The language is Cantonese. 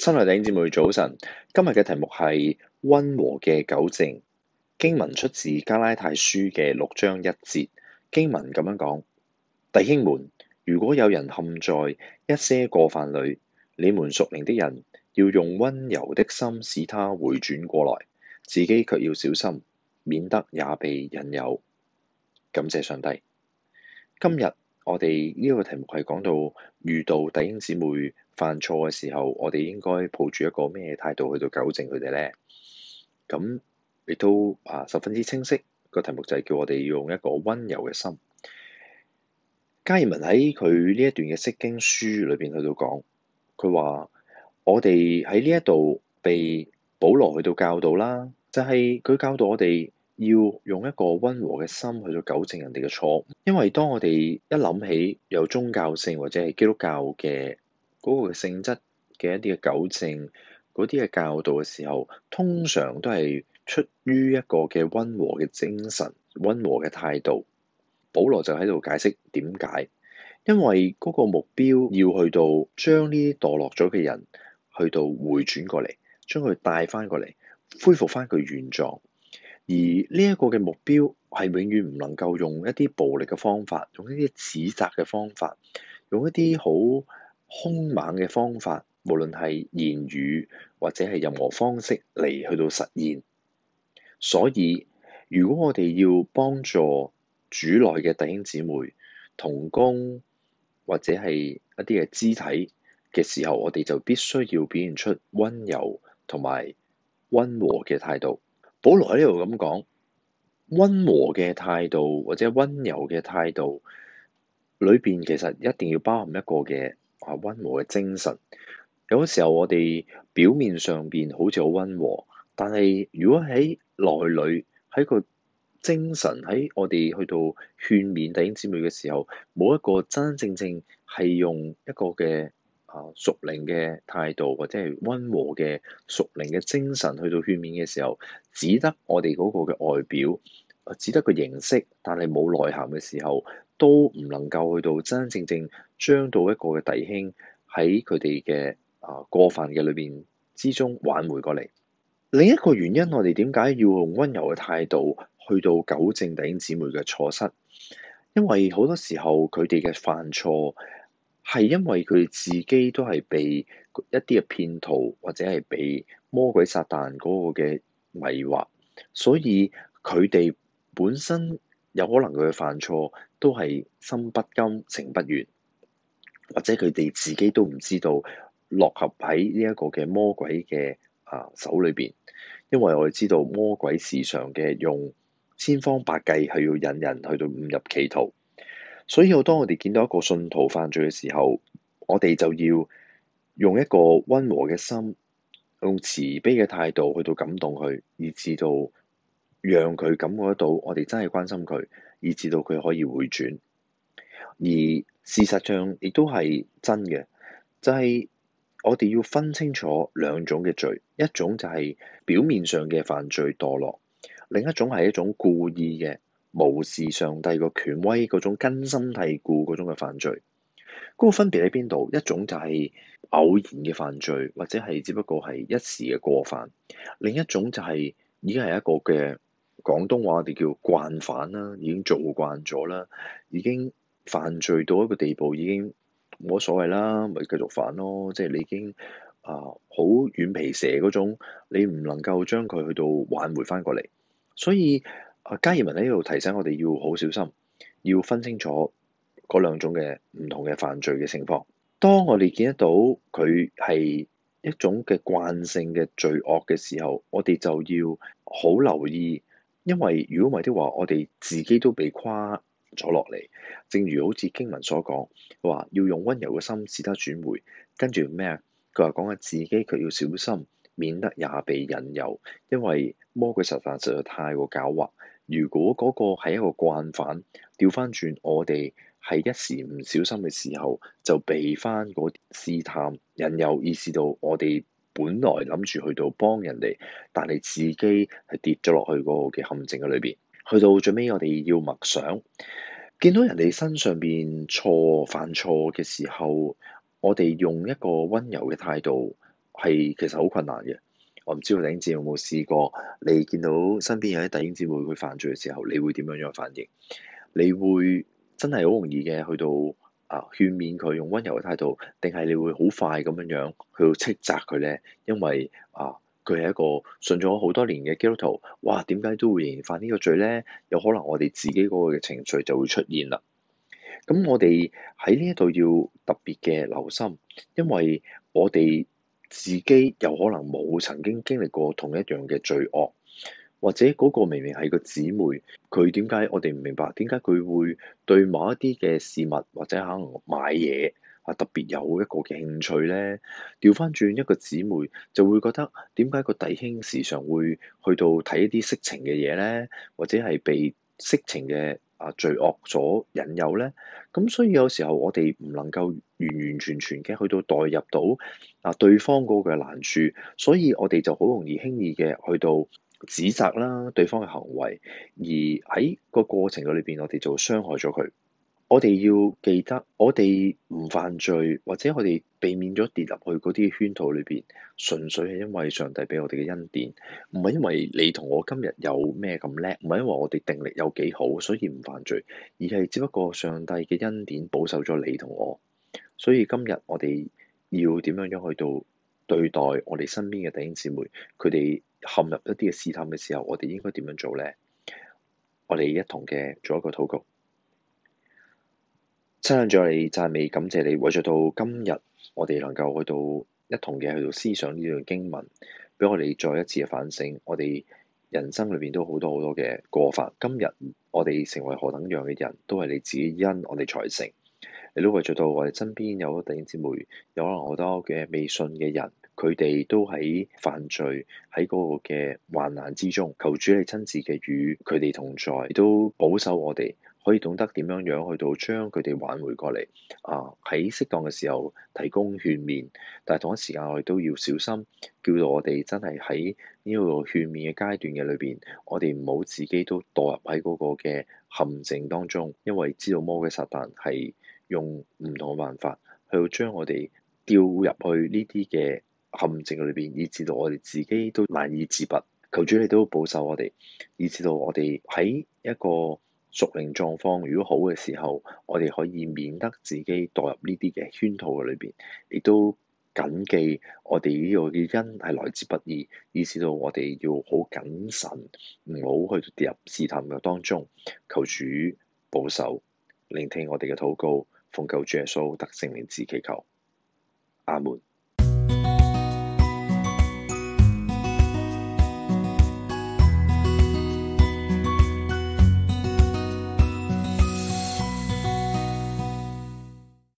親愛弟兄姊妹早晨，今日嘅題目係溫和嘅糾正。經文出自加拉太書嘅6章1節，經文咁樣講：弟兄們，如果有人陷在一些過犯裏，你們屬靈的人要用溫柔的心使他回轉過來，自己卻要小心，免得也被引誘。感謝上帝。今日我哋呢個題目係講到遇到弟兄姊妹犯錯嘅時候，我哋應該抱住一個咩態度去到糾正佢哋呢？咁亦都十分之清晰，個題目就係叫我哋用一個溫柔嘅心。加爾文喺佢呢一段嘅釋經書裏邊去到講，佢話我哋喺呢一度被保羅去到教導啦，就係佢教導我哋要用一個溫和嘅心去到糾正人哋嘅錯誤，因為當我哋一諗起有宗教性或者係基督教嘅嗰個性質嘅一啲嘅糾正嗰啲嘅教導嘅時候，通常都係出於一個嘅溫和嘅精神、溫和嘅態度。保羅就喺度解釋點解，因為嗰個目標要去到將呢啲墮落咗嘅人去到回轉過嚟，將佢帶翻過嚟，恢復翻佢原狀。而呢一個嘅目標係永遠唔能夠用一啲暴力嘅方法，用一啲指責嘅方法，用一啲好兇猛嘅方法，無論係言語或者係任何方式嚟去到實現。所以如果我哋要幫助主內嘅弟兄姊妹同工或者係一啲嘅肢體嘅時候，我哋就必須要表現出溫柔同埋溫和嘅態度。保羅喺呢度咁講，溫和嘅態度或者溫柔嘅態度裏邊，其實一定要包含一個嘅溫和嘅精神。有時候我哋表面上邊好似好溫和，但係如果喺內裏喺個精神喺我哋去到勸勉弟兄姊妹嘅時候，冇一個真真正正係用一個嘅屬靈嘅態度或者係溫和嘅屬靈嘅精神去到勸勉嘅時候，只得我哋嗰個嘅外表，只得個形式，但係冇內涵嘅時候，都唔能夠去到真真正正將到一個嘅弟兄喺佢哋嘅過犯嘅裏邊之中挽回過嚟。另一個原因，我哋點解要用溫柔嘅態度去到糾正弟兄姊妹嘅錯失？因為好多時候佢哋嘅犯錯係因為佢哋自己都係被一啲嘅騙徒或者係被魔鬼撒旦嗰個嘅迷惑，所以佢哋本身有可能佢嘅犯錯都係心不甘情不願，或者佢哋自己都唔知道落合喺呢一個嘅魔鬼嘅手裏邊。因為我哋知道魔鬼時常嘅用千方百計係要引人去到誤入歧途，所以當我哋見到一個信徒犯罪嘅時候，我哋就要用一個溫和嘅心，用慈悲嘅態度去到感動佢，以至到讓佢感覺得到我哋真係關心佢，以至到佢可以回轉。而事實上亦都係真嘅，就係我哋要分清楚兩種嘅罪，一種就係表面上嘅犯罪墮落，另一種係一種故意嘅無視上帝個權威嗰種根深蒂固嗰種嘅犯罪。嗰個分別喺邊度？一種就係偶然嘅犯罪，或者係只不過係一時嘅過犯；另一種就係已經係一個嘅廣東話我哋叫慣犯啦，已經做慣咗啦，已經犯罪到一個地步，已經冇乜所謂啦，咪繼續犯咯。即係你已經好軟皮蛇嗰種，你唔能夠將佢去到挽回翻過嚟。所以加爾文喺呢度提醒我哋要好小心，要分清楚嗰兩種嘅唔同嘅犯罪嘅情況。當我哋見得到佢係一種嘅慣性嘅罪惡嘅時候，我哋就要好留意，因為如果唔係的話，我哋自己都被誇咗落嚟。正如好似經文所講，話要用溫柔嘅心使他轉回，跟住咩啊？佢話講緊自己卻要小心，免得也被引誘，因為魔鬼撒旦實在太過狡猾。如果嗰個係一個慣犯，調翻轉我哋係一時唔小心嘅時候，就避翻嗰啲試探引誘，以致到我哋本來諗住去到幫人哋，但係自己係跌咗落去嗰個嘅陷阱嘅裏邊。去到最尾，我哋要默想，見到人哋身上邊犯錯嘅時候，我哋用一個溫柔嘅態度係其實好困難嘅。我唔知道弟兄姊妹有冇試過，你見到身邊有啲弟兄姊妹會犯罪嘅時候，你會點樣反應？你會真係好容易嘅去到勸勉佢，用溫柔嘅態度，定係你會好快咁樣去到斥責佢咧？因為佢係一個信咗好多年嘅基督徒，哇！點解都會仍然犯呢個罪咧？有可能我哋自己嗰個嘅情緒就會出現啦。咁我哋喺呢一度要特別嘅留心，因為我哋自己有可能冇曾經經歷過同一樣嘅罪惡，或者嗰個明明係個姊妹，佢點解我哋唔明白？點解佢會對某一啲嘅事物或者可能買嘢特別有一個嘅興趣咧？調翻轉一個姊妹就會覺得點解個弟兄時常會去到睇一啲色情嘅嘢咧，或者係被色情嘅罪惡所引誘咧？咁所以有時候我哋唔能夠完完全全嘅去到代入到對方嗰個難處，所以我哋就好容易輕易嘅去到指責啦對方嘅行為，而喺個過程裏邊我哋就傷害咗佢。我哋要記得，我哋唔犯罪，或者我哋避免咗跌入去嗰啲圈套裏邊，純粹係因為上帝俾我哋嘅恩典，唔係因為你同我今日有咩咁叻，唔係因為我哋定力有幾好，所以唔犯罪，而係只不過上帝嘅恩典保守咗你同我。所以今日我哋要點樣去到對待我哋身邊嘅弟兄姊妹，佢哋陷入一啲嘅試探嘅時候，我哋應該點樣做咧？我哋一同嘅做一個禱告。親近咗你，讚美感謝你，為咗到今日，我哋能夠去到一同嘅去到思想呢段經文，俾我哋再一次嘅反省。我哋人生裏邊都好多好多嘅過犯，今日我哋成為何等樣嘅人，都係你自己因我哋才成。你都為咗到我哋身邊有好多弟兄姊妹，有可能好多嘅未信嘅人，佢哋都喺犯罪喺嗰個嘅患難之中，求主你親自嘅與佢哋同在，亦都保守我哋。可以懂得點樣去到將佢哋挽回過嚟，喺適當嘅時候提供勸勉，但係同一時間我哋都要小心，叫到我哋真係喺呢個勸勉嘅階段嘅裏邊，我哋唔好自己都墮入喺嗰個嘅陷阱當中，因為知道魔鬼撒旦係用唔同嘅辦法去到將我哋掉入去呢啲嘅陷阱裏邊，以致到我哋自己都難以自拔。求主你都保守我哋，以致到我哋喺一個屬靈狀況如果好嘅時候，我哋可以免得自己墮入呢啲嘅圈套嘅裏邊，亦都謹記我哋呢個嘅恩係來自不義，以致到我哋要好謹慎，唔好去跌入試探嘅當中。求主保守，聆聽我哋嘅禱告，奉救主耶穌得聖靈之祈求，阿門。